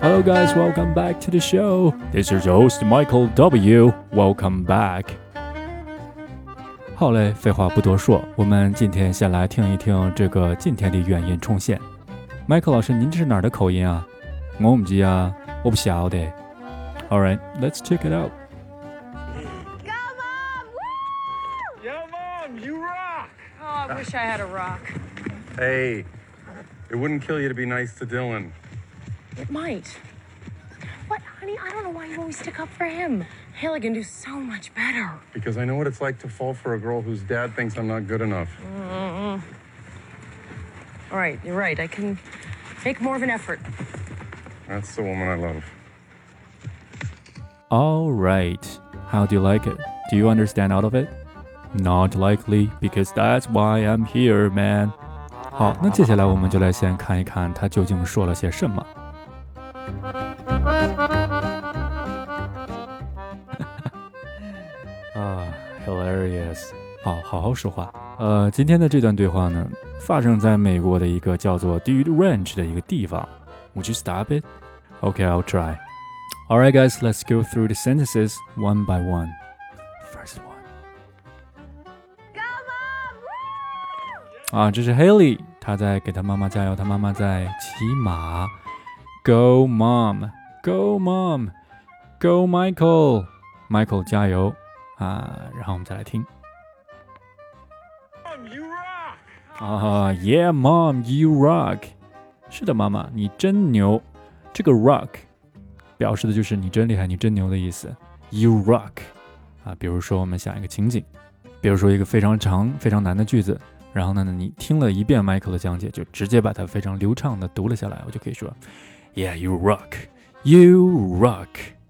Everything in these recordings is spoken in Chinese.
Hello guys, welcome back to the show. This is your host Michael W. Welcome back. 好嘞，废话不多说，我们今天先来听一听这个今天的原音重现。Michael 老师，您这是哪儿的口音啊？我唔知啊，我不晓得。Alright, let's check it out. Go, Mom! Woo! Yo, Mom, you rock! Oh, I wish I had a rock. Hey, it wouldn't kill you to be nice to Dylan. It might. What, honey? I don't know why you always stick up for him. Haley can do so much better. Because I know what it's like to fall for a girl whose dad thinks I'm not good enough. All right, you're right. I can make more of an effort. That's the woman I love. Alright, how do you like it? Do you understand all of it? Not likely, because that's why I'm here, man. 好，那接下来我们就来先看一看他究竟说了些什么。hilarious. 好好说话。今天的这段对话呢，发生在美国的一个叫做 Dude Ranch 的一个地方。Would you stop it? Okay, I'll try. Alright, guys, let's go through the sentences one by one. First one. Go, Mom! Woo! 这是 Haley， 她在给她妈妈加油，她妈妈在骑马。Go, Mom! Go, Mom! Go, Michael! Michael 加油然后我们再来听。 Mom, you rock! Yeah, Mom, you rock. 是的，妈妈，你真牛。这个 rock 表示的就是你真厉害，你真牛的意思。You rock 比如说我们想一个情景，比如说一个非常长、非常难的句子，然后呢，你听了一遍 Michael 的讲解，就直接把它非常流畅的读了下来，我就可以说 Yeah, you rock. You rock.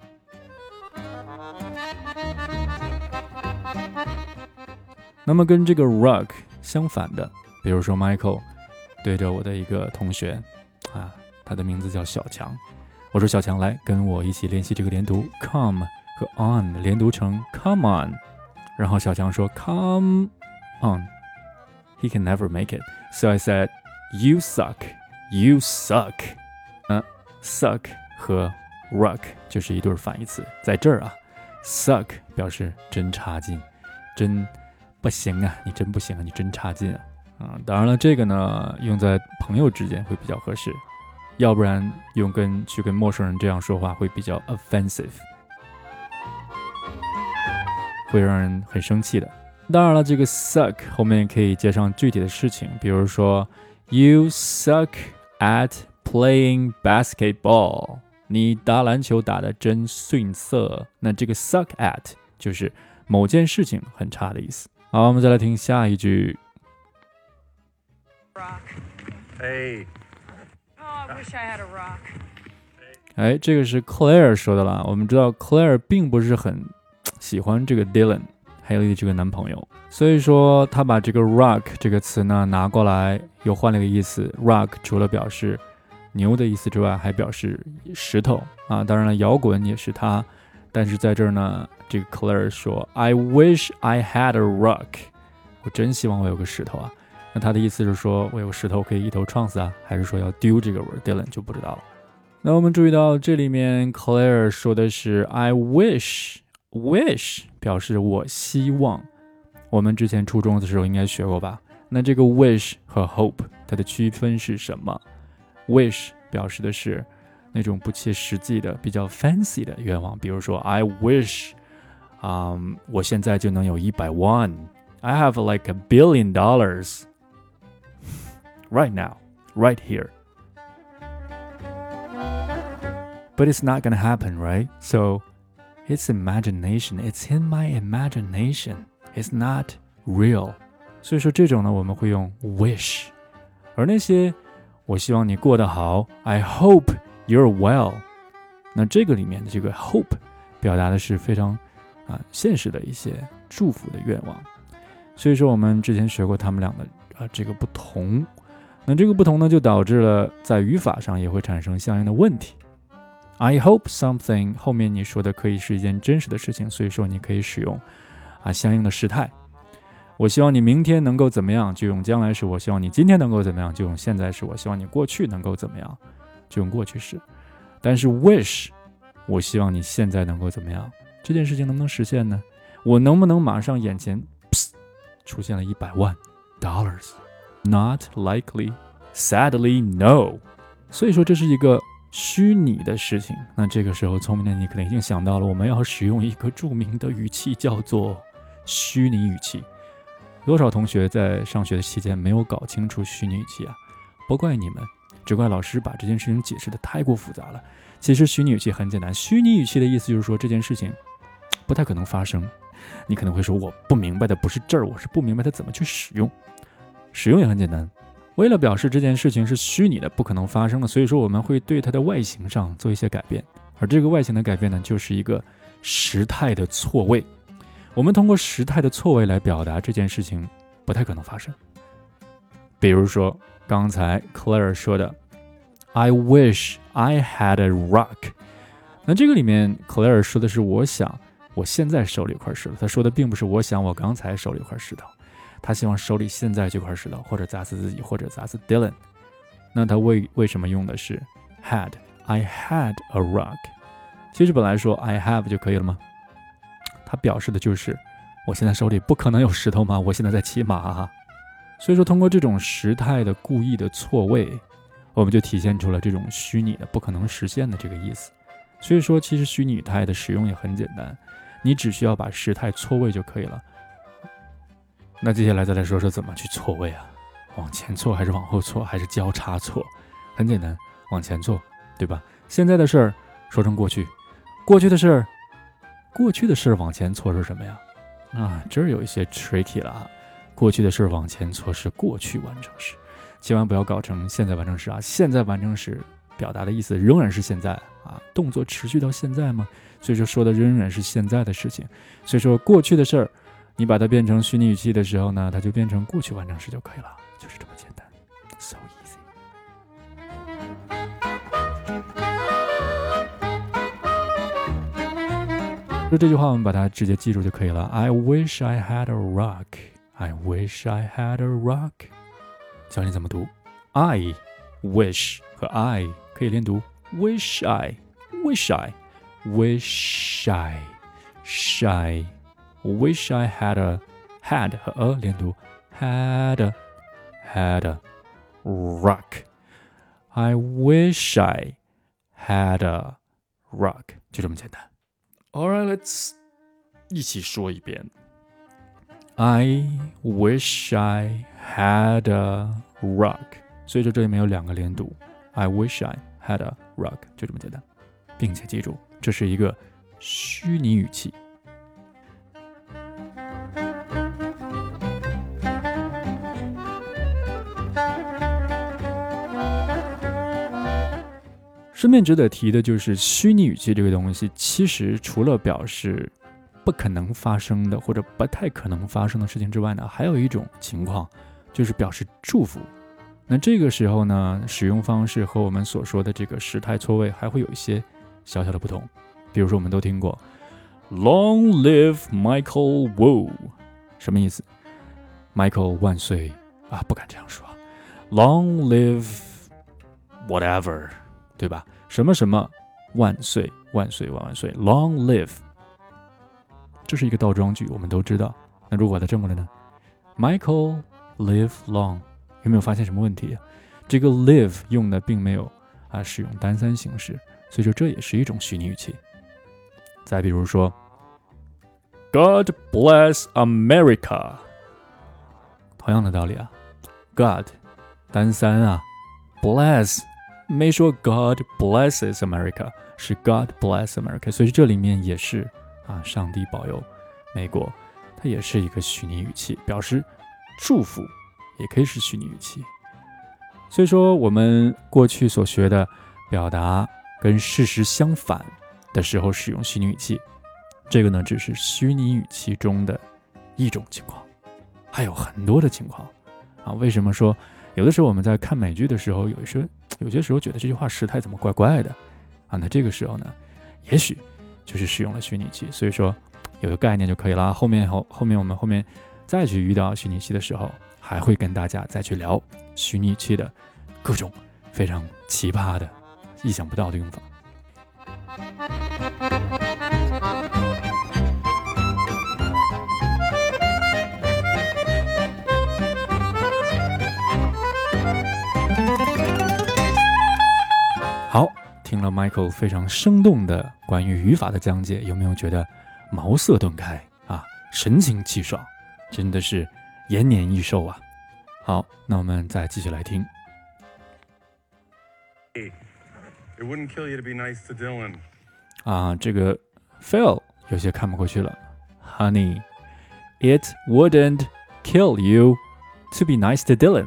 那么跟这个 rock 相反的，比如说 Michael 对着我的一个同学他的名字叫小强，我说小强来跟我一起练习这个连读 come 和 on 连读成 come on， 然后小强说 come on. He can never make it. So I said, you suck. You suck. Suck 和 rock 就是一对反义词。在这儿suck 表示真差劲，真不行你真不行你真差劲当然了，这个呢用在朋友之间会比较合适，要不然去跟陌生人这样说话会比较 offensive， 会让人很生气的。当然了，这个 suck 后面可以接上具体的事情，比如说 You suck at playing basketball. 你打篮球打得真逊色。那这个 suck at 就是某件事情很差的意思。好，我们再来听下一句。 Rock. Hey. Oh, I wish I had a rock. 这个是 Claire 说的啦。我们知道 Claire 并不是很喜欢这个 Dylan Haley 这个男朋友，所以说他把这个 rock 这个词呢拿过来，又换了个意思。rock 除了表示牛的意思之外，还表示石头当然了，摇滚也是它。但是在这儿呢，这个 Claire 说 I wish I had a rock. 我真希望我有个石头那他的意思是说我有个石头可以一头撞死还是说要丢这个 Dylan 就不知道了。那我们注意到这里面 Claire 说的是 I wish 表示我希望，我们之前初中的时候应该学过吧。那这个 wish 和 hope 它的区分是什么？ wish 表示的是那种不切实际的比较 fancy 的愿望，比如说 I wish 我现在就能有100万， I have like $1 billion right now, right here. But it's not gonna happen, right? So it's imagination. It's in my imagination. It's not real. 所以说这种呢，我们会用 wish。而那些我希望你过得好 I hope you're well. 那这个里面的这个 hope 表达的是非常现实的一些祝福的愿望。所以说我们之前学过他们俩的这个不同。那这个不同呢，就导致了在语法上也会产生相应的问题。I hope something 后面你说的可以是一件真实的事情，所以说你可以使用相应的时态。我希望你明天能够怎么样，就用将来时；我希望你今天能够怎么样，就用现在时；我希望你过去能够怎么样，就用过去时。 但是 wish 我希望你现在能够怎么样，这件事情能不能实现呢？我能不能马上眼前出现了$100万 Not likely, sadly no。 所以说这是一个虚拟的事情。那这个时候聪明的你可能已经想到了，我们要使用一个著名的语气，叫做虚拟语气。多少同学在上学的期间没有搞清楚虚拟语气啊？不怪你们，只怪老师把这件事情解释的太过复杂了。其实虚拟语气很简单，虚拟语气的意思就是说这件事情不太可能发生。你可能会说，我不明白的不是这儿，我是不明白它怎么去使用。使用也很简单，为了表示这件事情是虚拟的，不可能发生的，所以说我们会对它的外形上做一些改变。而这个外形的改变呢，就是一个时态的错位。我们通过时态的错位来表达这件事情不太可能发生。比如说刚才 Claire 说的 I wish I had a rock， 那这个里面 Claire 说的是我想我现在手里有块石头，他说的并不是我想我刚才手里有块石头，他希望手里现在这块石头，或者砸死自己，或者砸死 Dylan。 那他为什么用的是 had I had a rock？ 其实本来说 I have 就可以了吗？它表示的就是我现在手里不可能有石头吗？我现在在骑马啊。所以说通过这种时态的故意的错位，我们就体现出了这种虚拟的不可能实现的这个意思。所以说其实虚拟语态的使用也很简单，你只需要把时态错位就可以了。那接下来再来说说怎么去错位啊？往前错还是往后错还是交叉错？很简单，往前错，对吧？现在的事儿说成过去，过去的事儿往前错是什么呀？这儿有一些 tricky 了啊。过去的事儿往前错是过去完成时，千万不要搞成现在完成时啊。现在完成时表达的意思仍然是现在啊，动作持续到现在吗？所以说的仍然是现在的事情。所以说过去的事儿你把它变成虚拟语气的时候呢，它就变成过去完成时就可以了，就是这么简单 ，so easy。说这句话我们把它直接记住就可以了。I wish I had a rock. I wish I had a rock. 教你怎么读 I wish 和 I 可以连读 wish I wish I wish I shy wish I had a had 和 a 连读 had a rock I wish I had a rock 就这么简单。 Alright, let's 一起说一遍。 I wish I had a rock， 所以说这里面有两个连读 I wish I had a rock， 就这么简单，并且记住这是一个虚拟语气。顺便值得提的就是虚拟语气这个东西，其实除了表示不可能发生的或者不太可能发生的事情之外呢，还有一种情况就是表示祝福。那这个时候呢，使用方式和我们所说的这个时态错位还会有一些小小的不同。比如说我们都听过 Long live Michael Wu， 什么意思？ Michael 万岁啊，不敢这样说。 Long live whatever， 对吧？什么什么万岁万岁万万岁 Long live，这是一个倒装句，我们都知道。那如果把它正过来呢 Michael live long， 有没有发现什么问题？这个 live 用的并没有使用单三形式，所以说这也是一种虚拟语气。再比如说 God bless America， 同样的道理啊， God 单三啊， bless 没说 God blesses America， 是 God bless America， 所以这里面也是上帝保佑美国，它也是一个虚拟语气，表示祝福也可以是虚拟语气。所以说我们过去所学的表达跟事实相反的时候使用虚拟语气，这个呢只是虚拟语气中的一种情况，还有很多的情况为什么说有的时候我们在看美剧的时候，有些时候觉得这句话时态怎么怪怪的那这个时候呢，也许就是使用了虚拟气。所以说有个概念就可以了。后面我们后面再去遇到虚拟气的时候，还会跟大家再去聊虚拟气的各种非常奇葩的意想不到的用法。 好，听了 Michael 非常生动的关于语法的讲解，有没有觉得茅塞顿开啊，神清气爽，真的是延年益寿啊。好，那我们再继续来听。 Hey, it wouldn't kill you to be nice to Dylan. 啊，这个 Phil 有些看不过去了。Honey, it wouldn't kill you to be nice to Dylan.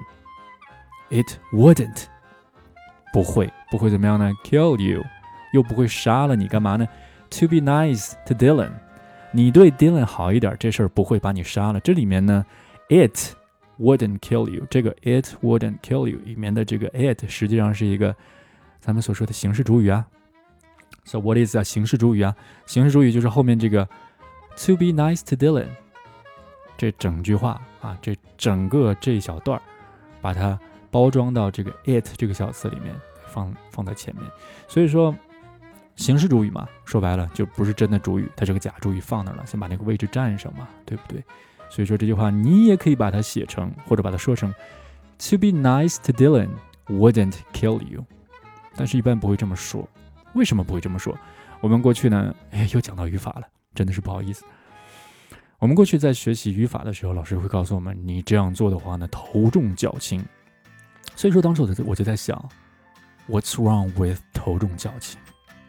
It wouldn't. 不会怎么样呢 ？Kill you， 又不会杀了你，干嘛呢 ？To be nice to Dylan， 你对 Dylan 好一点，这事儿不会把你杀了。这里面呢 ，it wouldn't kill you， 这个 it wouldn't kill you 里面的这个 it 实际上是一个咱们所说的形式主语啊。So what is a 形式主语啊？形式主语就是后面这个 to be nice to Dylan， 这整句话啊，这整个这一小段，把它包装到这个 it 这个小词里面，放在前面。所以说形式主语嘛，说白了就不是真的主语，它是个假主语放那儿了，先把那个位置占上嘛，对不对？所以说这句话你也可以把它写成，或者把它说成 To be nice to Dylan wouldn't kill you， 但是一般不会这么说。为什么不会这么说？我们过去呢，又讲到语法了，真的是不好意思。我们过去在学习语法的时候，老师会告诉我们，你这样做的话呢，头重脚轻。所以说当时我就在想 What's wrong with 头重脚轻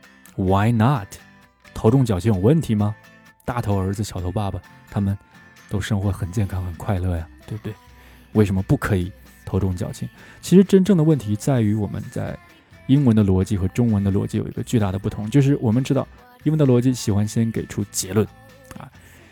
Why not 头重脚轻有问题吗？大头儿子小头爸爸他们都生活很健康很快乐呀，对不对？为什么不可以头重脚轻？其实真正的问题在于我们在英文的逻辑和中文的逻辑有一个巨大的不同，就是我们知道英文的逻辑喜欢先给出结论啊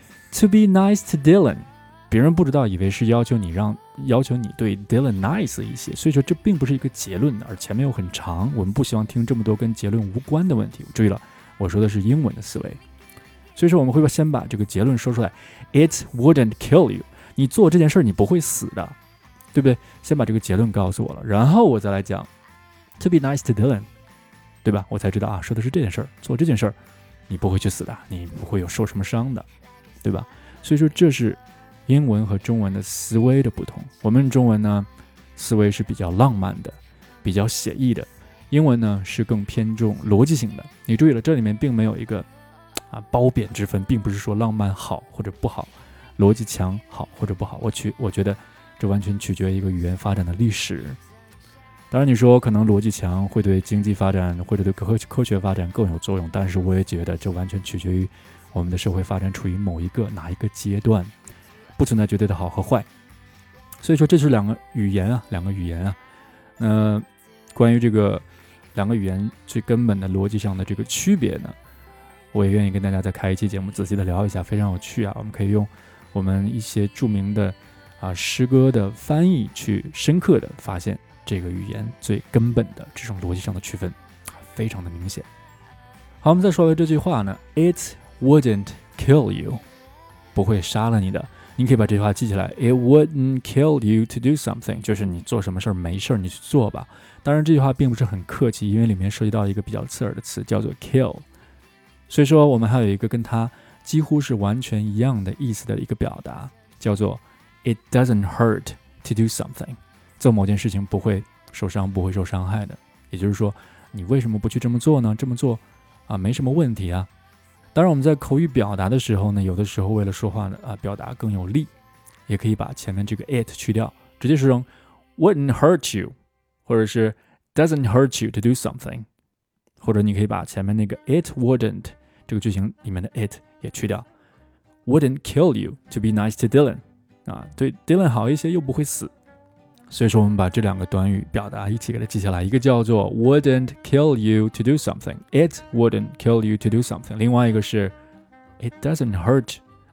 To be nice to Dylan， 别人不知道以为是要求你对 Dylan nice 一些，所以说这并不是一个结论，而前面又很长，我们不希望听这么多跟结论无关的问题。注意了，我说的是英文的思维，所以说我们会先把这个结论说出来 It wouldn't kill you， 你做这件事你不会死的，对不对？先把这个结论告诉我了，然后我再来讲 To be nice to Dylan， 对吧？我才知道啊，说的是这件事儿，做这件事儿你不会去死的，你不会有受什么伤的，对吧？所以说这是英文和中文的思维的不同。我们中文呢，思维是比较浪漫的，比较写意的；英文呢是更偏重逻辑性的。你注意了，这里面并没有一个褒贬之分，并不是说浪漫好或者不好，逻辑强好或者不好。我觉得这完全取决于一个语言发展的历史。当然你说可能逻辑强会对经济发展或者对科学发展更有作用，但是我也觉得这完全取决于我们的社会发展处于哪一个阶段，不存在绝对的好和坏。所以说这是两个语言啊。关于这个两个语言最根本的逻辑上的这个区别呢，我也愿意跟大家再开一期节目仔细的聊一下，非常有趣啊。我们可以用我们一些著名的诗歌的翻译去深刻的发现这个语言最根本的这种逻辑上的区分，非常的明显。好，我们再说回这句话呢 It wouldn't kill you， 不会杀了你的。你可以把这句话记起来 It wouldn't kill you to do something， 就是你做什么事儿没事儿你去做吧。当然这句话并不是很客气，因为里面涉及到一个比较刺耳的词叫做 kill， 所以说我们还有一个跟它几乎是完全一样的意思的一个表达，叫做 It doesn't hurt to do something， 做某件事情不会受伤不会受伤害的。也就是说你为什么不去这么做呢？这么做没什么问题啊。当然我们在口语表达的时候呢，有的时候为了说话呢表达更有力，也可以把前面这个 it 去掉，直接说成 wouldn't hurt you， 或者是 doesn't hurt you to do something， 或者你可以把前面那个 it wouldn't 这个句型里面的 it 也去掉， wouldn't kill you to be nice to Dylan， 对 Dylan 好一些又不会死。所以说我们把这两个短语表达一起给它记下来，一个叫做 wouldn't kill you to do something， It wouldn't kill you to do something， 另外一个是 It doesn't hurt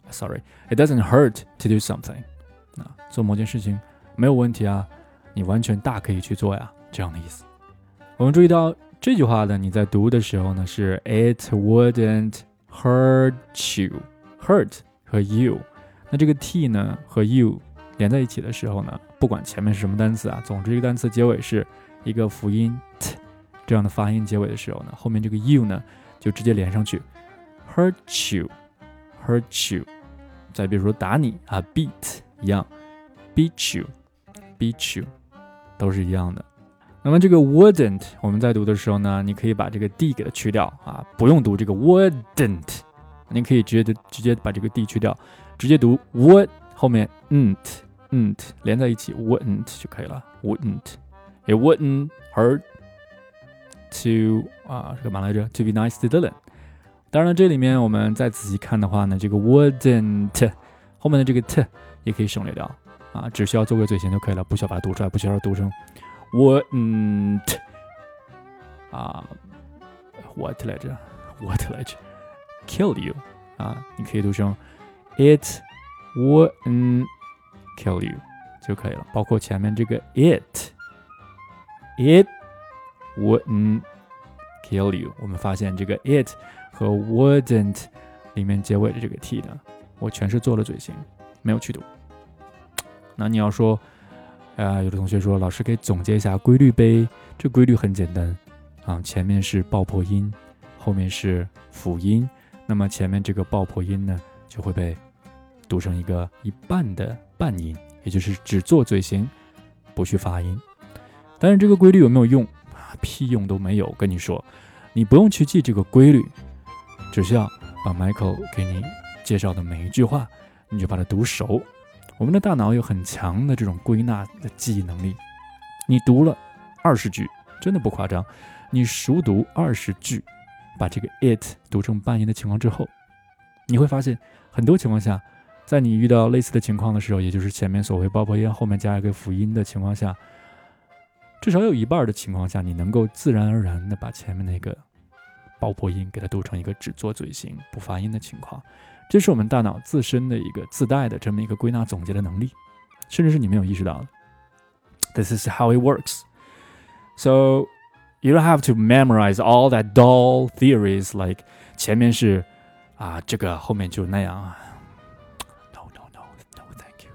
to do something， 做某件事情没有问题啊，你完全大可以去做呀，这样的意思。我们注意到这句话呢，你在读的时候呢是 It wouldn't hurt you， hurt 和 you， 那这个 t 呢和 you连在一起的时候呢，不管前面是什么单词总之这个单词结尾是一个辅音 t 这样的发音结尾的时候呢，后面这个 you 呢就直接连上去 ，hurt you。再比如说打你啊 ，beat 一样 ，beat you，都是一样的。那么这个 wouldn't 我们在读的时候呢，你可以把这个 d 给它去掉啊，不用读这个 wouldn't， 你可以直接把这个 d 去掉，直接读 would 后面 n 连在一起 wouldn't 就可以了 ，wouldn't。It wouldn't hurt to 是干嘛来着 ？To be nice to Dylan。当然了，这里面我们再仔细看的话呢，这个 wouldn't 后面的这个 t 也可以省略掉啊，只需要做个嘴型就可以了，不需要把它读出来，不需要读成 wouldn't what 来着 kill you 啊，你可以读成 it wouldn't kill you 就可以了，包括前面这个 it wouldn't kill you， 我们发现这个 it 和 wouldn't 里面结尾的这个 t 呢，我全是做了嘴型，没有去读。那你要说有的同学说老师可以总结一下规律呗，这规律很简单啊，前面是爆破音，后面是辅音，那么前面这个爆破音呢就会被读成一个一半的半音，也就是只做嘴型不去发音。但是这个规律有没有用屁用都没有，跟你说你不用去记这个规律，只需要把 Michael 给你介绍的每一句话你就把它读熟。我们的大脑有很强的这种归纳的记忆能力，你读了20句真的不夸张，你熟读20句，把这个 it 读成半音的情况之后，你会发现很多情况下，在你遇到类似的情况的时候，也就是前面所谓爆破音后面加一个辅音的情况下，至少有一半的情况下，你能够自然而然的把前面那个爆破音给它读成一个只做嘴型不发音的情况，这是我们大脑自身的一个自带的这么一个归纳总结的能力，甚至是你没有意识到的。This is how it works. So you don't have to memorize all that dull theories like 前面是这个后面就那样啊。No, thank you.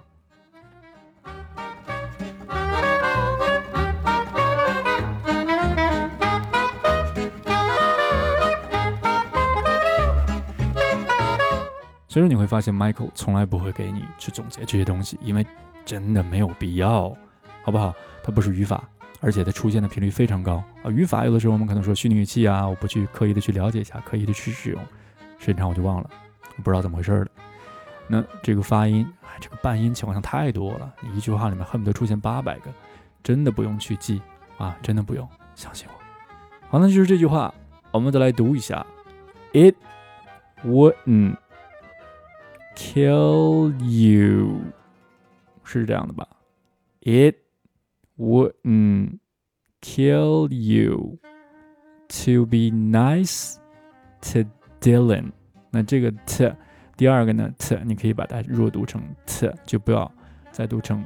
所以说你会发现 Michael 从来不会给你去总结这些东西，因为真的没有必要，好不好？它不是语法，而且它出现的频率非常高啊。语法有的时候我们可能说虚拟语气我不去刻意的去了解一下，刻意的去使用，时间长我就忘了，我不知道怎么回事了。那这个发音这个半音情况下太多了，你一句话里面恨不得出现800个，真的不用去记真的不用，相信我。好，那就是这句话，我们再来读一下 It wouldn't kill you， 是这样的吧？ It wouldn't kill you to be nice to Dylan。 那这个 t 第二个呢 t 你可以把它弱读成 t， 就不要再读成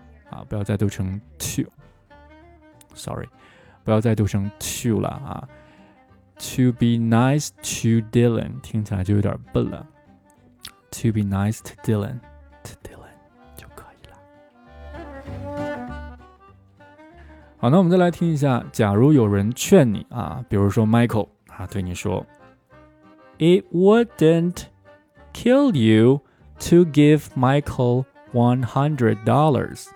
to， sorry， 不要再读成 to 了To be nice to Dylan 听起来就有点笨了， To be nice to Dylan 就可以了。好，那我们再来听一下，假如有人劝你比如说 Michael 对你说 It wouldn't kill you to give Michael $100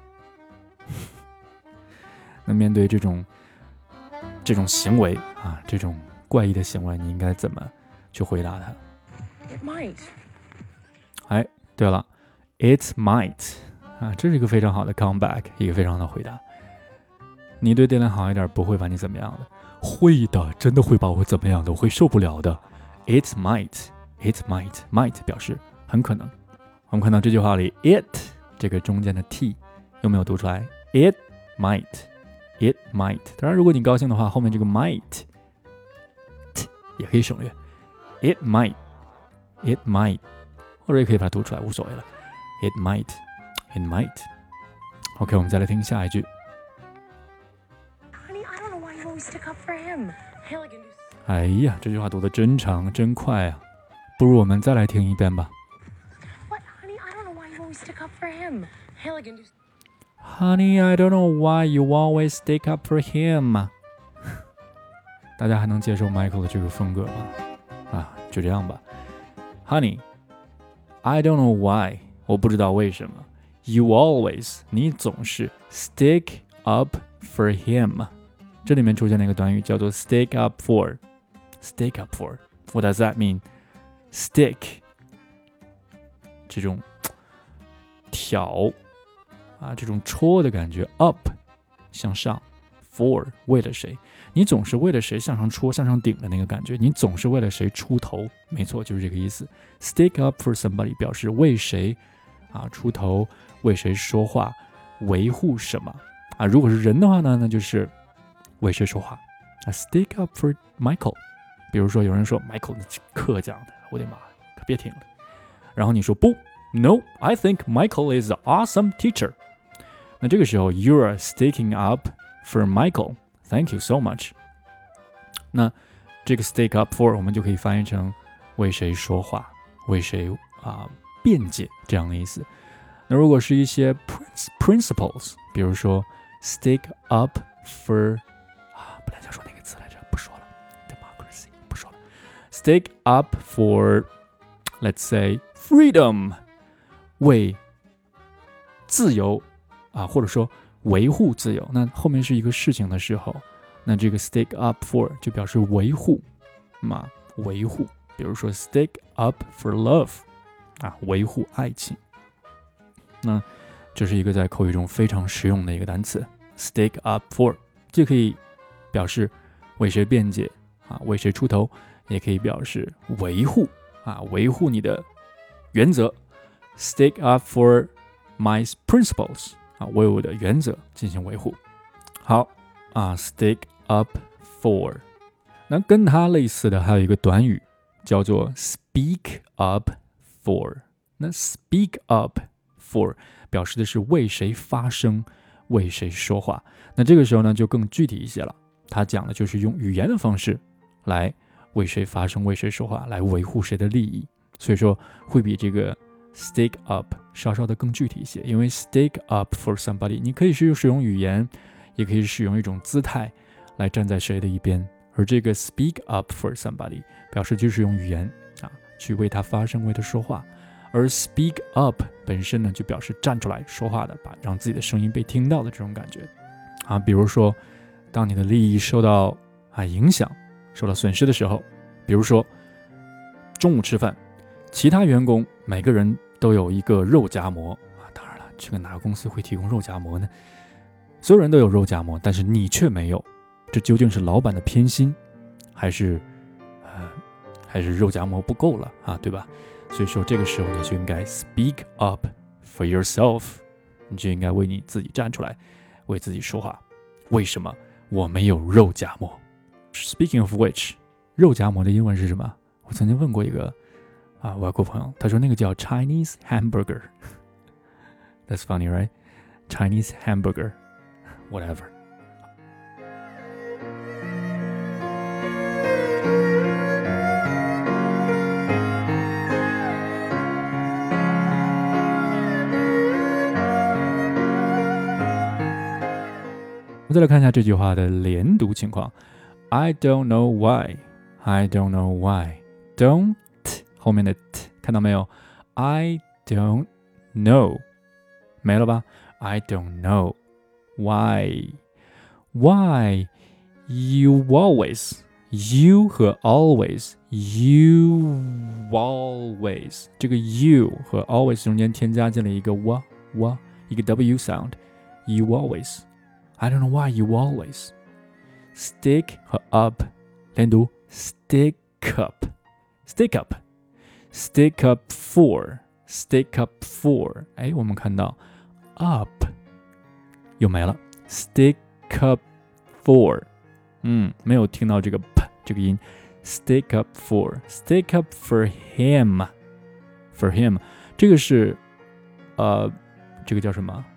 那面对这种行为这种怪异的行为，你应该怎么去回答他？ It might. 对了 It might 这是一个非常好的 comeback， 一个非常好的回答。你对Dylan好一点不会把你怎么样的，会的，真的会把我怎么样的，我会受不了的。It might 表示很可能。我们看到这句话里 it 这个中间的 t 有没有读出来？ It might。当然如果你高兴的话，后面这个 might t 也可以省略。It might 或者也可以把它读出来，无所谓了。It might OK， 我们再来听下一句。 Honey, I don't know why you always stick up for him. Hell, I can do. 哎呀，这句话读得真长真快不如我们再来听一遍吧。 What, honey? I don't know why you always stick up for him. Hell, I can do. Honey, I don't know why you always stick up for him. 大家还能接受 Michael 的这个风格吗？就这样吧。Honey, I don't know why， 我不知道为什么。You always， 你总是 stick up for him。这里面出现了一个短语叫做 stick up for。Stick up for， what does that mean？ Stick， 这种挑这种戳的感觉 ，up 向上 ，for 为了谁？你总是为了谁向上戳、向上顶的那个感觉，你总是为了谁出头，没错，就是这个意思。Stick up for somebody 表示为谁出头，为谁说话，维护什么如果是人的话呢，那就是为谁说话Stick up for Michael。比如说有人说 Michael 那课讲的，我的妈，可别听了。然后你说不 ，No, I think Michael is an awesome teacher。那这个时候 You are sticking up for Michael。Thank you so much。那这个 stick up for 我们就可以翻译成为谁说话，为谁辩解这样的意思。那如果是一些 principles， 比如说 stick up for 本来想说那个词来着，不说了 democracy 不说了 stick up for let's say freedom， 为自由或者说维护自由，那后面是一个事情的时候，那这个 stick up for 就表示维护维护。比如说 stick up for love 维护爱情。那这是一个在口语中非常实用的一个单词 stick up for， 既可以表示为谁辩解为谁出头，也可以表示维护维护你的原则 stick up for my principles为我的原则进行维护。好stick up for。 那跟它类似的还有一个短语叫做 speak up for。 那 speak up for 表示的是为谁发声，为谁说话。那这个时候呢就更具体一些了，它讲的就是用语言的方式来为谁发声，为谁说话，来维护谁的利益。所以说会比这个stick up 稍稍的更具体一些，因为 stick up for somebody 你可以使用语言，也可以使用一种姿态来站在谁的一边，而这个 speak up for somebody 表示就是用语言去为他发声，为他说话。而 speak up 本身呢就表示站出来说话的，让自己的声音被听到的这种感觉比如说当你的利益受到影响，受到损失的时候，比如说中午吃饭，其他员工每个人都有一个肉夹馍当然了，这个哪个公司会提供肉夹馍呢？所有人都有肉夹馍，但是你却没有，这究竟是老板的偏心，还是肉夹馍不够了对吧？所以说这个时候你就应该 speak up for yourself， 你就应该为你自己站出来，为自己说话。为什么我没有肉夹馍？ Speaking of which， 肉夹馍的英文是什么？我曾经问过一个外国朋友，他说那个叫 Chinese hamburger。 That's funny, right? Chinese hamburger whatever。 我们再来看一下这句话的连读情况。 I don't know why， I don't know why， don't 后面的 t 看到没有？ I don't know 没了吧？ I don't know why you always， you 和 always， you always 这个 you 和 always 中间添加进了一个 一个 w sound， you always。 I don't know why you always。 stick 和 up 连读 stick up stick up stick up for stick up for。 我们看到 up 又没了， stick up for 没有听到这个 p 这个音。 stick up for stick up for him for him 这个是这个叫什么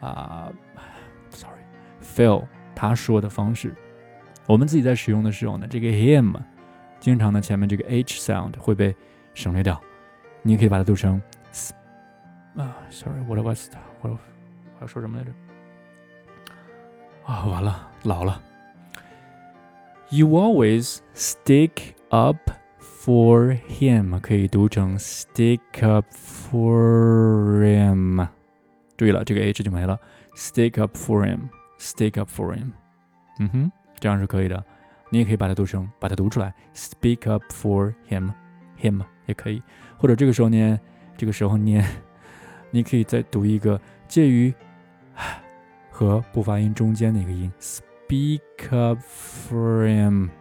sorry Phil 他说的方式。我们自己在使用的时候呢，这个 him 经常呢前面这个 h sound 会被省略掉，你也可以把它读成sorry我要说什么来着完了老了。 You always stick up for him， 可以读成 stick up for him。注意了，这个 h 就没了。Stick up for him， stick up for him。这样是可以的。你也可以把它读出来 ，speak up for him 也可以。或者这个时候念，你可以再读一个介于和不发音中间的一个音 ，speak up for him，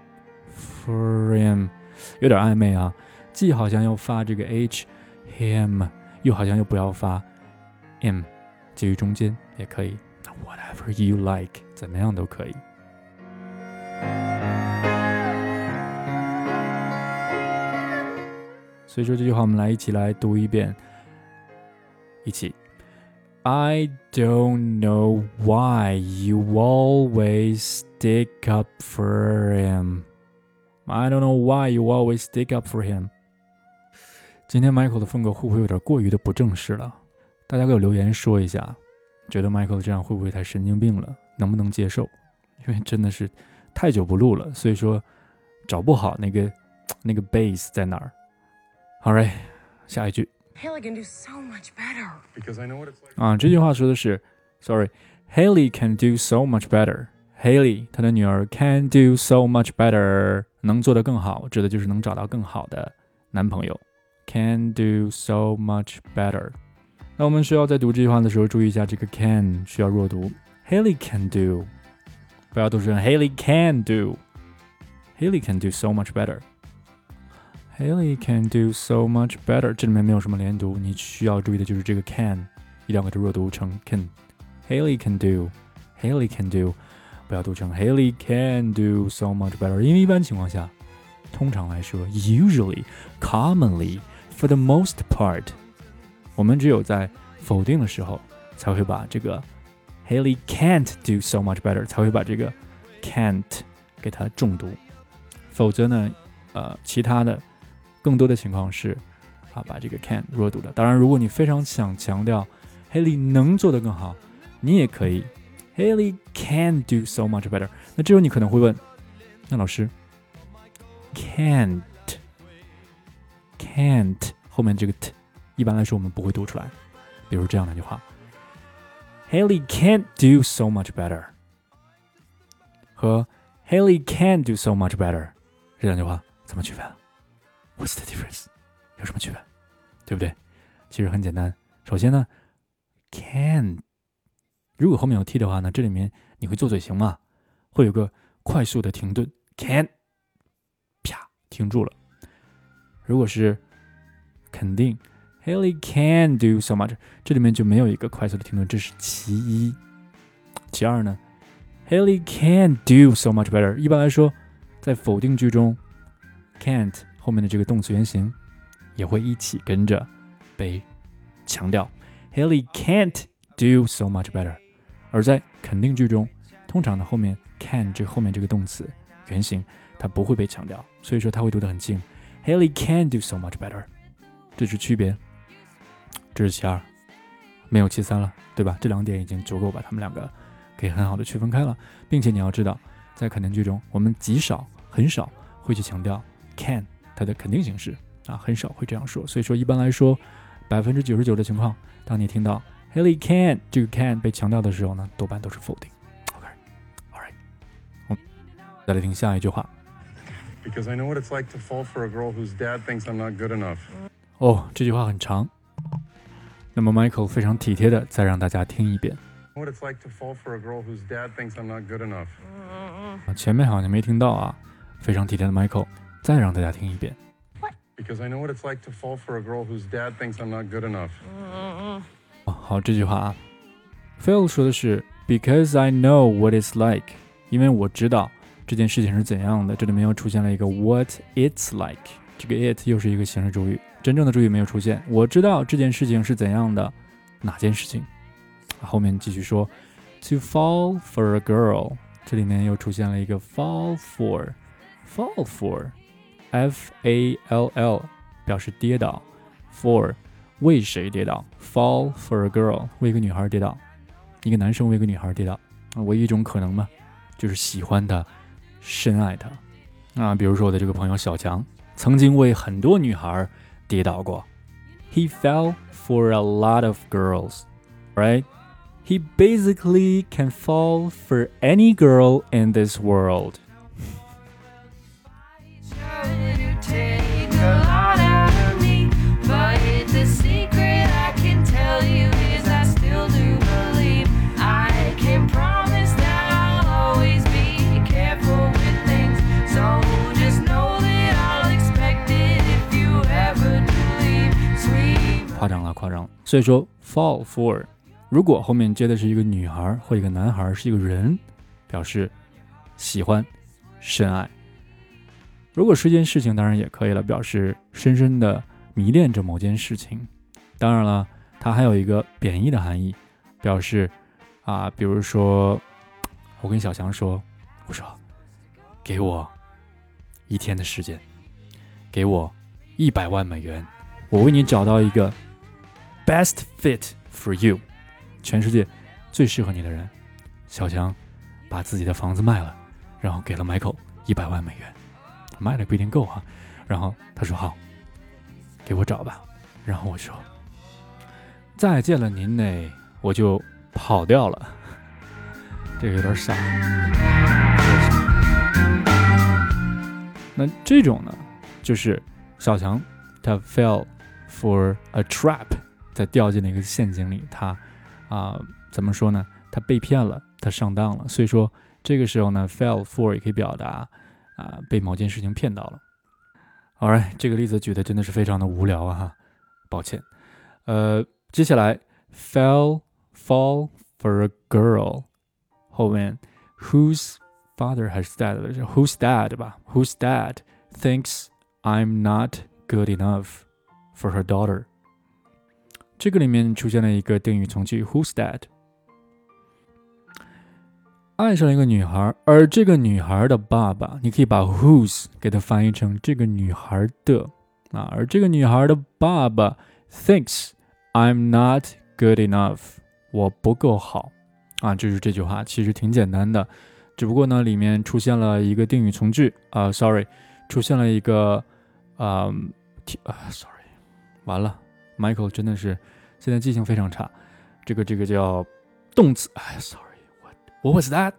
有点暧昧啊，既好像要发这个 h，him， 又好像又不要发 m， 介于中间也可以。Whatever you like， 怎么样都可以。所以说这句话我们一起来读一遍，一起。I don't know why you always stick up for him. I don't know why you always stick up for him. 今天 Michael 的风格会不会有点过于的不正式了？大家给我留言说一下，觉得 Michael 这样会不会太神经病了？能不能接受？因为真的是太久不录了，所以说找不好那个 base 在哪儿。Alright， 下一句。 Haley can do so much better. Because I know what it's like. 这句话说的是 Haley can do so much better. Haley 她的女儿 can do so much better， 能做得更好，指的就是能找到更好的男朋友。Can do so much better。那我们需要在读这句话的时候注意一下，这个 can 需要弱读。Haley can do， 不要读成 Haley can do。Haley can do so much better。Haley can do so much better， 这里面没有什么连读，你需要注意的就是这个 can， 一定要给它弱读成 can。Haley can do， 不要读成 Haley can do so much better， 因为一般情况下，通常来说 usually commonly for the most part， 我们只有在否定的时候才会把这个 Haley can't do so much better 才会把这个 can't 给它重读，否则呢其他的更多的情况是把这个 can 弱读的。当然如果你非常想强调 Haley 能做得更好，你也可以 Haley can do so much better。 那这时候你可能会问，那老师 can't 后面这个 t 一般来说我们不会读出来，比如这样的一句话 Haley can't do so much better 和 Haley can do so much better 这两句话怎么区分？ What's the difference？ 有什么区别？对不对？其实很简单，首先呢 can 如果后面有 t 的话呢，这里面你会做嘴型嘛，会有个快速的停顿 can 啪停住了。如果是肯定 Haley can do so much， 这里面就没有一个快速的停顿，这是其一。其二呢 Haley can do so much better， 一般来说在否定句中 can't 后面的这个动词原形也会一起跟着被强调 Haley can't do so much better， 而在肯定句中通常的后面 can 这后面这个动词原形它不会被强调，所以说它会读得很轻 Haley can do so much better， 这是区别，这是其二，没有其三了，对吧？这两点已经足够把他们两个给很好的区分开了，并且你要知道在肯定句中我们很少会去强调 can 它的肯定形式很少会这样说，所以说一般来说 99% 的情况，当你听到 Haley can 这个 can 被强调的时候呢，多半都是否定。 OK Alright， 我们再来听下一句话。 Because I know what it's like to fall for a girl whose dad thinks I'm not good enough. 这句话很长，那么 Michael 非常体贴的再让大家听一遍。 What it's like to fall for a girl whose dad thinks I'm not good enough. 前面好像没听到非常体贴的 Michael 再让大家听一遍。 Because I know what it's like to fall for a girl whose dad thinks I'm not good enough. 好，这句话Phil 说的是 Because I know what it's like， 因为我知道这件事情是怎样的，这里面又出现了一个 what it's like， 这个 it 又是一个形式主语，真正的主语没有出现，我知道这件事情是怎样的，哪件事情，后面继续说 To fall for a girl， 这里面又出现了一个 fall for F-A-L-L 表示跌倒 for 为谁跌倒 fall for a girl 为一个女孩跌倒，一个男生为一个女孩跌倒，唯一一种可能嘛，就是喜欢她深爱她比如说我的这个朋友小强曾经为很多女孩跌倒过。He fell for a lot of girls, right? He basically can fall for any girl in this world.夸张了。所以说 fall for 如果后面接的是一个女孩或一个男孩，是一个人，表示喜欢深爱。如果是一件事情当然也可以了，表示深深的迷恋着某件事情。当然了，它还有一个贬义的含义，表示比如说我跟小强说，我说给我1天的时间，给我100万美元，我为你找到一个 best fit for you， 全世界最适合你的人。小强把自己的房子卖了，然后给了 Michael 100万美元，卖了不一定够然后他说好，给我找吧。然后我说再见了您嘞，我就跑掉了。这个有点傻。那这种呢，就是小强他 fell for a trap， 他掉进了一个陷阱里，他怎么说呢？他被骗了，他上当了。所以说这个时候呢 fell for 也可以表达被某件事情骗到了。Alright， 这个例子举的真的是非常的无聊抱歉。接下来 fall for a girl 后面 whose father has died， whose dad 吧 whose dad thinks I'm not good enough for her daughter。 这个里面出现了一个定语从句 whose dad， 爱上了一个女孩，而这个女孩的爸爸，你可以把 whose 给它翻译成这个女孩的而这个女孩的爸爸 thinks I'm not good enough， 我不够好就是这句话其实挺简单的，只不过呢里面出现了一个定语从句出现了一个sorry， 完了 Michael 真的是现在记性非常差，这个叫动词sorry what was that？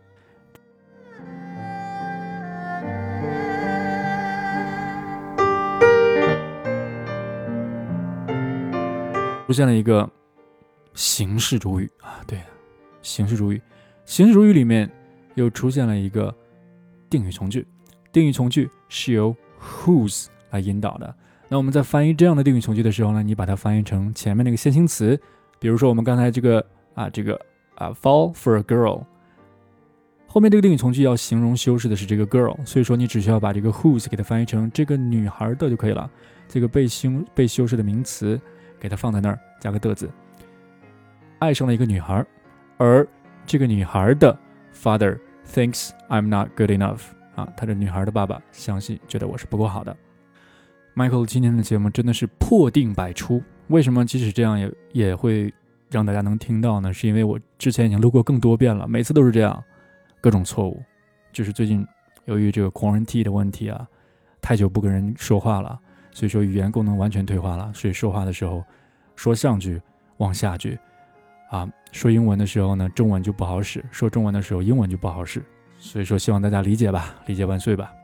出现了一个形式主语对，形式主语。形式主语里面又出现了一个定语从句，定语从句是由 whose 来引导的。那我们在翻译这样的定语从句的时候呢，你把它翻译成前面那个先行词，比如说我们刚才这个fall for a girl， 后面这个定语从句要形容修饰的是这个 girl， 所以说你只需要把这个 whose 给它翻译成这个女孩的就可以了，这个被修饰的名词给它放在那儿，加个的字。爱上了一个女孩，而这个女孩的 father thinks I'm not good enough他这女孩的爸爸相信觉得我是不够好的。Michael 今天的节目真的是破腚百出，为什么即使这样也会让大家能听到呢？是因为我之前已经录过更多遍了，每次都是这样，各种错误。就是最近由于这个 quarantine 的问题太久不跟人说话了，所以说语言功能完全退化了，所以说话的时候说上句忘下句说英文的时候呢中文就不好使，说中文的时候英文就不好使，所以说希望大家理解吧，理解万岁吧。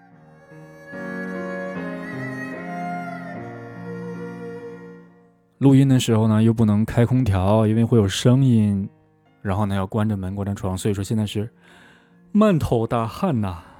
录音的时候呢又不能开空调，因为会有声音，然后呢要关着门关着窗，所以说现在是满头大汗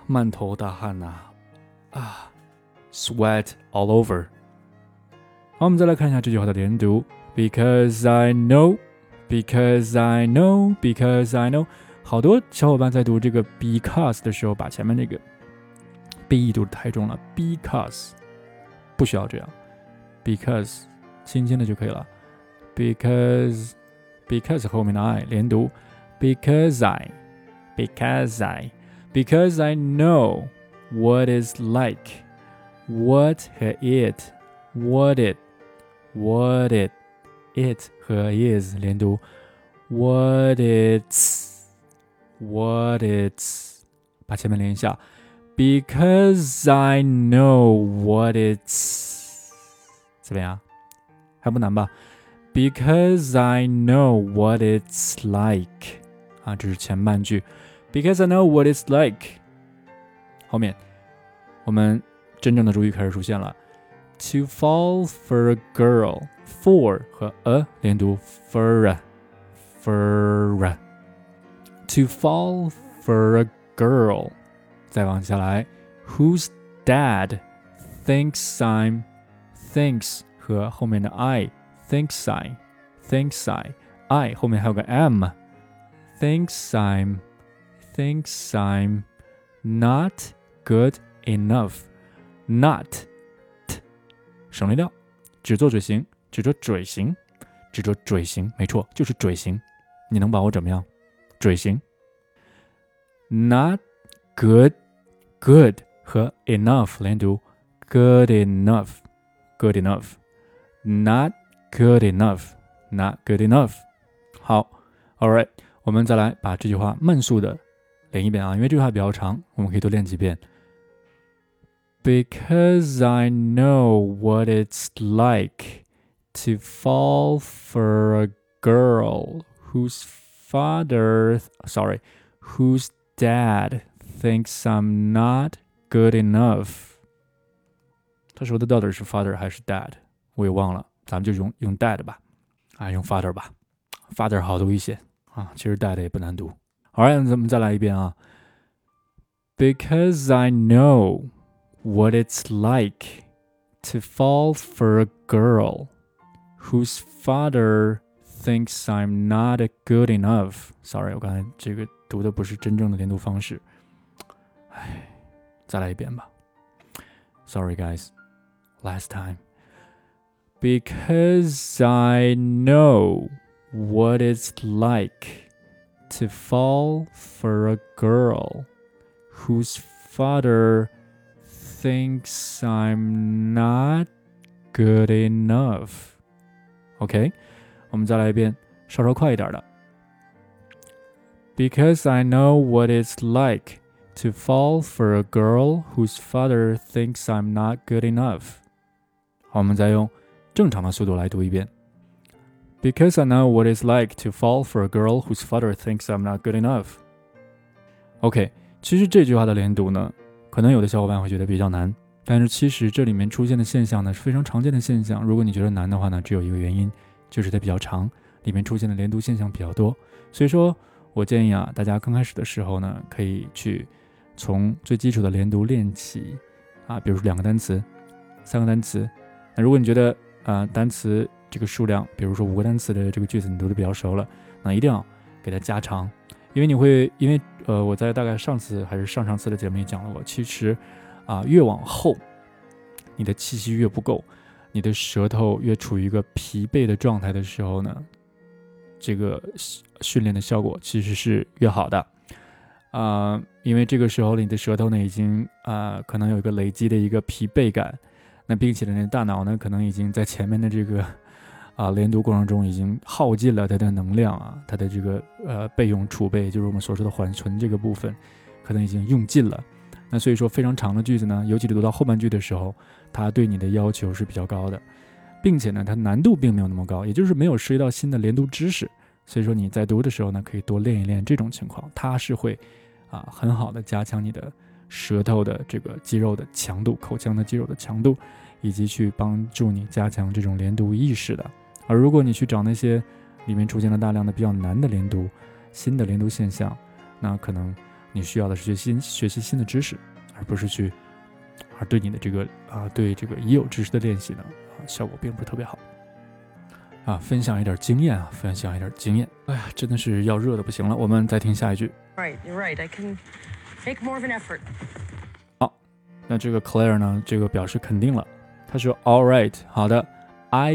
sweat all over。 好，我们再来看一下这句话的连读， Because I know Because I know Because I know。 好多小伙伴在读这个 because 的时候把前面那个变异读太重了， because 不需要这样， because 轻轻的就可以了， because 后面的 I 连读， because I know what is like what 和 it和 is 连读， what it's 把前面连一下。Because I know what it's 怎么样？还不难吧？ Because I know what it's like 啊，这是前半句。Because I know what it's like 后面我们真正的主语开始出现了。To fall for a girl for 和 a 连读 for To fall for a girl 再往下来 Whose dad thinks I'm thinks 和后面的 I thinks I 后面还有个 am thinks I'm not good enough not t 省略掉只做嘴型只做嘴型只做嘴型没错就是嘴型你能把我怎么样嘴型 not good 和 enough 连读 good enough not good enough 好 alright 我们再来把这句话慢速的连一遍啊因为这句话比较长我们可以多练几遍 Because I know what it's like to fall for a girl whose dad thinks I'm not good enough 他说的到底是 father 还是 dad 我也忘了咱们就用 dad 吧用 father 吧 father 好读一些其实 dad 也不难读 Alright 咱们再来一遍啊 Because I know what it's like to fall for a girl whose father thinks I'm not good enough Sorry 我刚才这个读的不是真正的连读方式再来一遍吧 Sorry guys Last time Because I know what it's like to fall for a girl whose father thinks I'm not good enough OK 我们再来一遍稍稍快一点的 Because I know what it's like to fall for a girl whose father thinks I'm not good enough 好我们再用正常的速度来读一遍 Because I know what it's like to fall for a girl whose father thinks I'm not good enough OK 其实这句话的连读呢可能有的小伙伴会觉得比较难但是其实这里面出现的现象呢是非常常见的现象如果你觉得难的话呢只有一个原因就是它比较长里面出现的连读现象比较多所以说我建议大家刚开始的时候呢可以去从最基础的连读练起比如说2个单词3个单词那如果你觉得单词这个数量比如说5个单词的这个句子你读得比较熟了那一定要给它加长因为我在大概上次还是上次的节目里讲了过其实越往后你的气息越不够你的舌头越处于一个疲惫的状态的时候呢这个训练的效果其实是越好的因为这个时候你的舌头呢已经可能有一个累积的一个疲惫感那并且呢大脑呢可能已经在前面的这个连读过程中已经耗尽了它的能量它的这个备用储备就是我们所说的缓存这个部分可能已经用尽了那所以说非常长的句子呢尤其是读到后半句的时候它对你的要求是比较高的并且呢它难度并没有那么高也就是没有涉及到新的连读知识所以说你在读的时候呢可以多练一练这种情况它是会很好的加强你的舌头的这个肌肉的强度口腔的肌肉的强度以及去帮助你加强这种连读意识的而如果你去找那些里面出现了大量的比较难的连读新的连读现象那可能你需要的是学习新的知识而不是而对你的这个对这个已有知识的练习呢效果并不是特别好分享一点经验哎呀真的是要热的不行了我们再听下一句 Right, you're right. I can make more of an effort. 好那这个 Claire 呢这个表示肯定了他说 All right 好的 I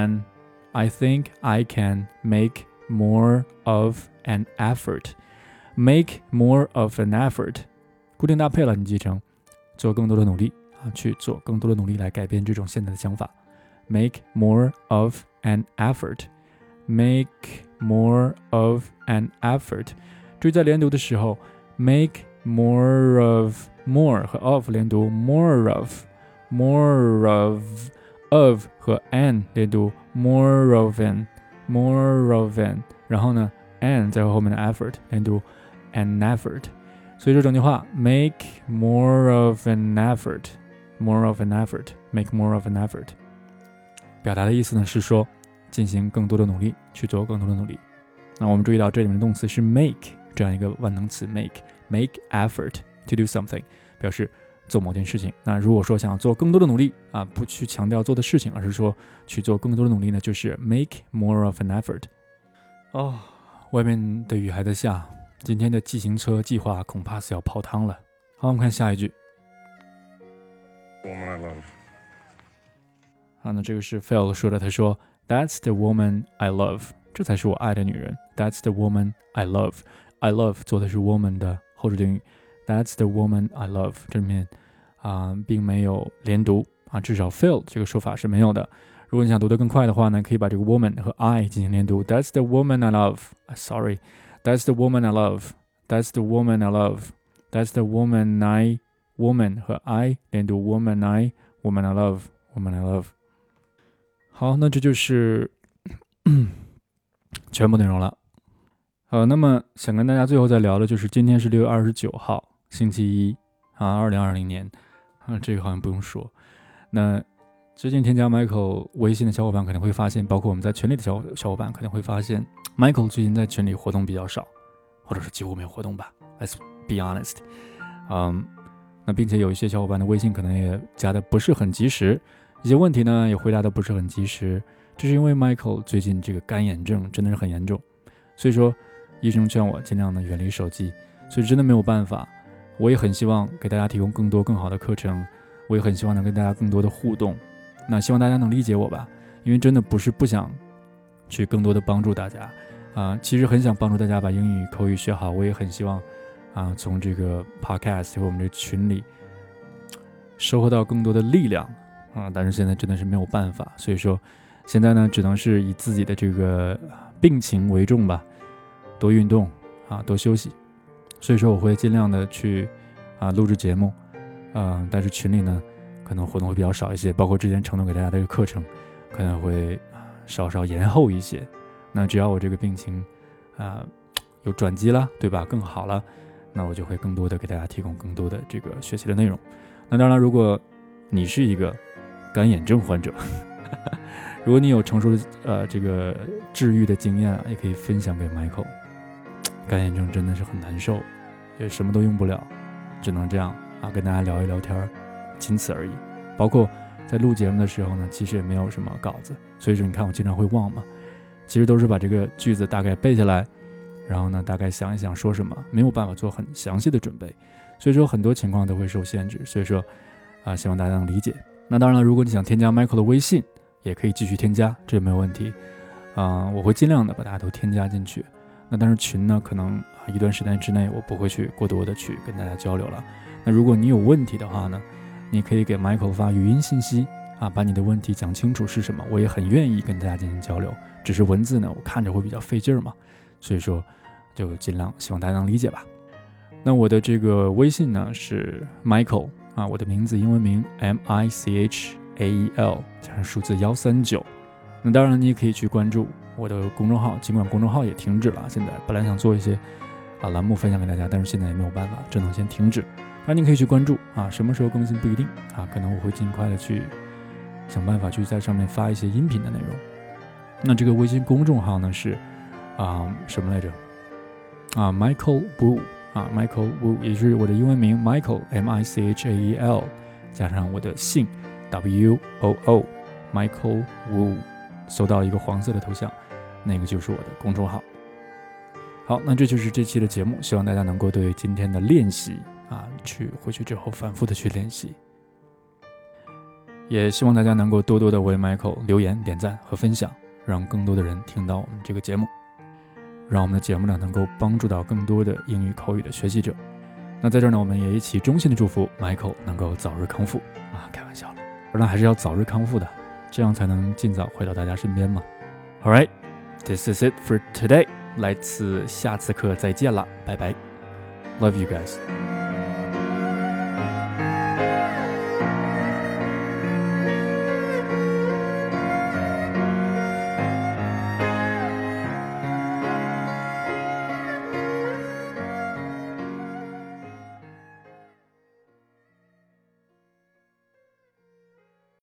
think I can make more of an effort make more of an effort 固定搭配了你记成做更多的努力去做更多的努力来改变这种现在的想法 make more of an effort make more of an effort 注意在连读的时候 make more of more 和 of 连读 more of和 an 连读 more of an 然后呢 an 在后面的 effort 连读 an effort， 所以说整句话 make more of an effort make more of an effort， 表达的意思呢是说进行更多的努力，去做更多的努力。那我们注意到这里面的动词是 make 这样一个万能词 make effort to do something， 表示做某件事情。那如果说想要做更多的努力啊，不去强调做的事情，而是说去做更多的努力呢，就是 make more of an effort。外面的雨还在下，今天的骑行车计划恐怕是要泡汤了。好，我们看下一句。 Woman I love。 好，那这个是 Phil 说的，他说 That's the woman I love， 这才是我爱的女人。That's the woman I love。 I love 做的是 woman 的后置定语。That's the woman I love， 这里面并没有连读至少 Phil 这个说法是没有的。如果你想读得更快的话呢，可以把这个 woman 和 I 进行连读。That's the woman I love。 Sorry， That's the woman I love。 That's the woman I love。 That's the woman I woman 和 I 连读 woman I love。 好，那这就是全部内容了。好，那么想跟大家最后再聊的就是今天是6月29号星期一2020年这个好像不用说。那最近添加 Michael 微信的小伙伴可能会发现，包括我们在群里的小伙伴可能会发现 Michael 最近在群里活动比较少，或者是几乎没有活动吧， Let's be honest。 那并且有一些小伙伴的微信可能也加的不是很及时，一些问题呢也回答的不是很及时，这是因为 Michael 最近这个干眼症真的是很严重，所以说医生劝我尽量的远离手机，所以真的没有办法。我也很希望给大家提供更多更好的课程，我也很希望能跟大家更多的互动，那希望大家能理解我吧，因为真的不是不想去更多的帮助大家其实很想帮助大家把英语口语学好，我也很希望从这个 podcast 和我们这个群里收获到更多的力量但是现在真的是没有办法，所以说现在呢只能是以自己的这个病情为重吧，多运动多休息。所以说我会尽量的去录制节目但是群里呢可能活动会比较少一些，包括之前承诺给大家的这个课程可能会稍稍延后一些。那只要我这个病情有转机了，对吧，更好了，那我就会更多的给大家提供更多的这个学习的内容。那当然如果你是一个干眼症患者如果你有成熟的这个治愈的经验也可以分享给 Michael。 干眼症真的是很难受，也什么都用不了，只能这样跟大家聊一聊天，仅此而已。包括在录节目的时候呢，其实也没有什么稿子，所以说你看我经常会忘嘛，其实都是把这个句子大概背下来，然后呢大概想一想说什么，没有办法做很详细的准备，所以说很多情况都会受限制，所以说希望大家能理解。那当然了，如果你想添加 Michael 的微信也可以继续添加，这也没有问题我会尽量的把大家都添加进去。那但是群呢可能一段时间之内我不会去过多的去跟大家交流了。那如果你有问题的话呢，你可以给 Michael 发语音信息把你的问题讲清楚是什么，我也很愿意跟大家进行交流，只是文字呢我看着会比较费劲嘛，所以说就尽量希望大家能理解吧。那我的这个微信呢是 Michael我的名字英文名 MICHAEL 加上数字139。那当然你也可以去关注我的公众号，尽管公众号也停止了，现在本来想做一些栏目分享给大家，但是现在也没有办法，只能先停止。那你可以去关注什么时候更新不一定可能我会尽快的去想办法去在上面发一些音频的内容。那这个微信公众号呢是什么来着Michael Wu Michael Wu 也是我的英文名 Michael MICHAEL 加上我的姓 WOO Michael Wu， 搜到一个黄色的头像，那个就是我的公众号。好，那这就是这期的节目，希望大家能够对今天的练习回去之后反复的去练习，也希望大家能够多多的为 Michael 留言点赞和分享，让更多的人听到我们这个节目，让我们的节目呢能够帮助到更多的英语口语的学习者。那在这儿呢我们也一起衷心的祝福 Michael 能够早日康复开玩笑了，当然还是要早日康复的，这样才能尽早回到大家身边嘛。 Alright, this is it for today， 来自下次课再见了，拜拜， Love you guys。